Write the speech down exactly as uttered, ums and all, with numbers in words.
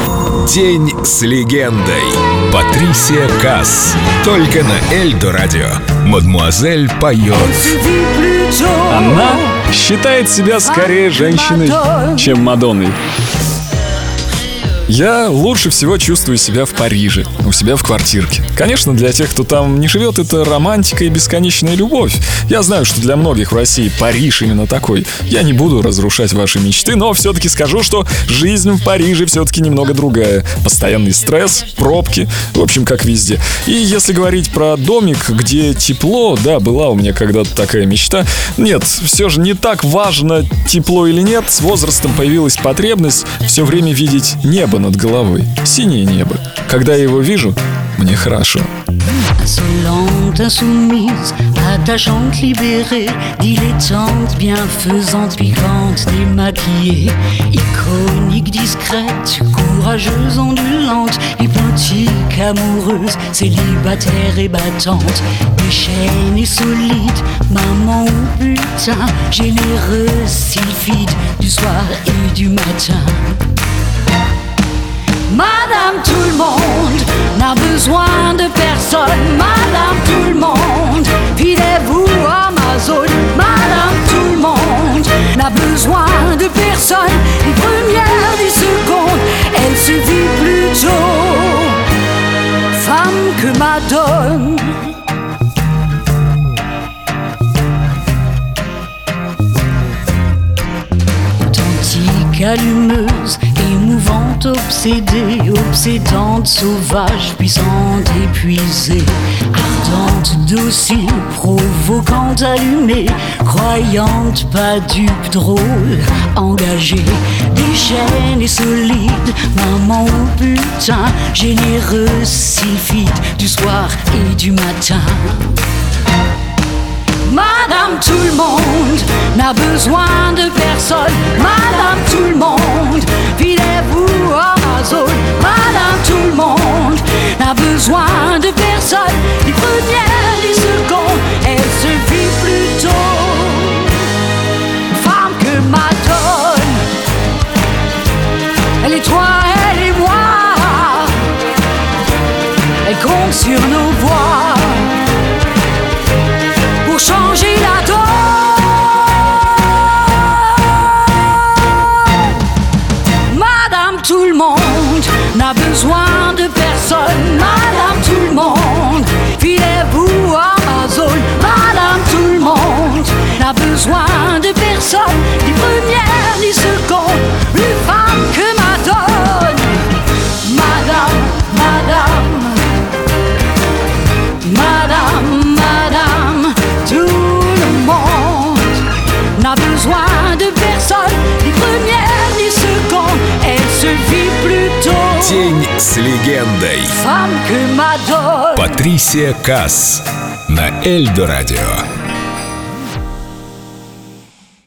День с легендой. Патрисия Касс. Только на Эльдо радио. Мадмуазель поет. Она считает себя скорее женщиной, чем Мадонной. Я лучше всего чувствую себя в Париже, у себя в квартирке. Конечно, для тех, кто там не живет, это романтика и бесконечная любовь. Я знаю, что для многих в России Париж именно такой. Я не буду разрушать ваши мечты, но все-таки скажу, что жизнь в Париже все-таки немного другая. Постоянный стресс, пробки, в общем, как везде. И если говорить про домик, где тепло, да, была у меня когда-то такая мечта. Нет, все же не так важно, тепло или нет. С возрастом появилась потребность все время видеть небо над головой, синее небо. Когда я его вижу, мне хорошо. Insolente, insoumise, attachante, libérée, dilettante, bienfaisante, piquante, démaquillée, iconique, discrète, courageuse, ondulante, hypnotique, amoureuse, célibataire et battante, déchaînée, solide, maman ou putain, généreuse, sylphide, du soir et du matin. Madame tout le monde n'a besoin de personne. Madame tout le monde, filez-vous Amazon. Madame tout le monde n'a besoin de personne. Ni première ni seconde, elle se vit plutôt femme que madone. Authentique, allumeuse, émouvante, obsédée, obsédante, sauvage, puissante, épuisée, ardente, docile, provocante, allumée, croyante, pas dupe, drôle, engagée, déchaînée, solide, maman ou putain, généreuse, sylphide, du soir et du matin. Madame tout le monde n'a besoin de personne. Madame tout le monde, filez-vous Amazon. Madame tout le monde n'a besoin de personne. Ni première ni seconde, elle se vit plutôt femme que madone. Elle est toi, elle est moi. Elle compte sur nos voix pour changer la donne. Madame tout le monde n'a besoin de personne. Madame tout le monde, filez-vous Amazon. Madame tout le monde n'a besoin de personne, ni première ni seconde, plus femme que madone. Madame, madame, madame, madame, tout le monde n'a besoin de personne, ni première ni seconde, elle se vit plutôt День с легендой. femme que madone. Патрисия Касс на Эльдо радио.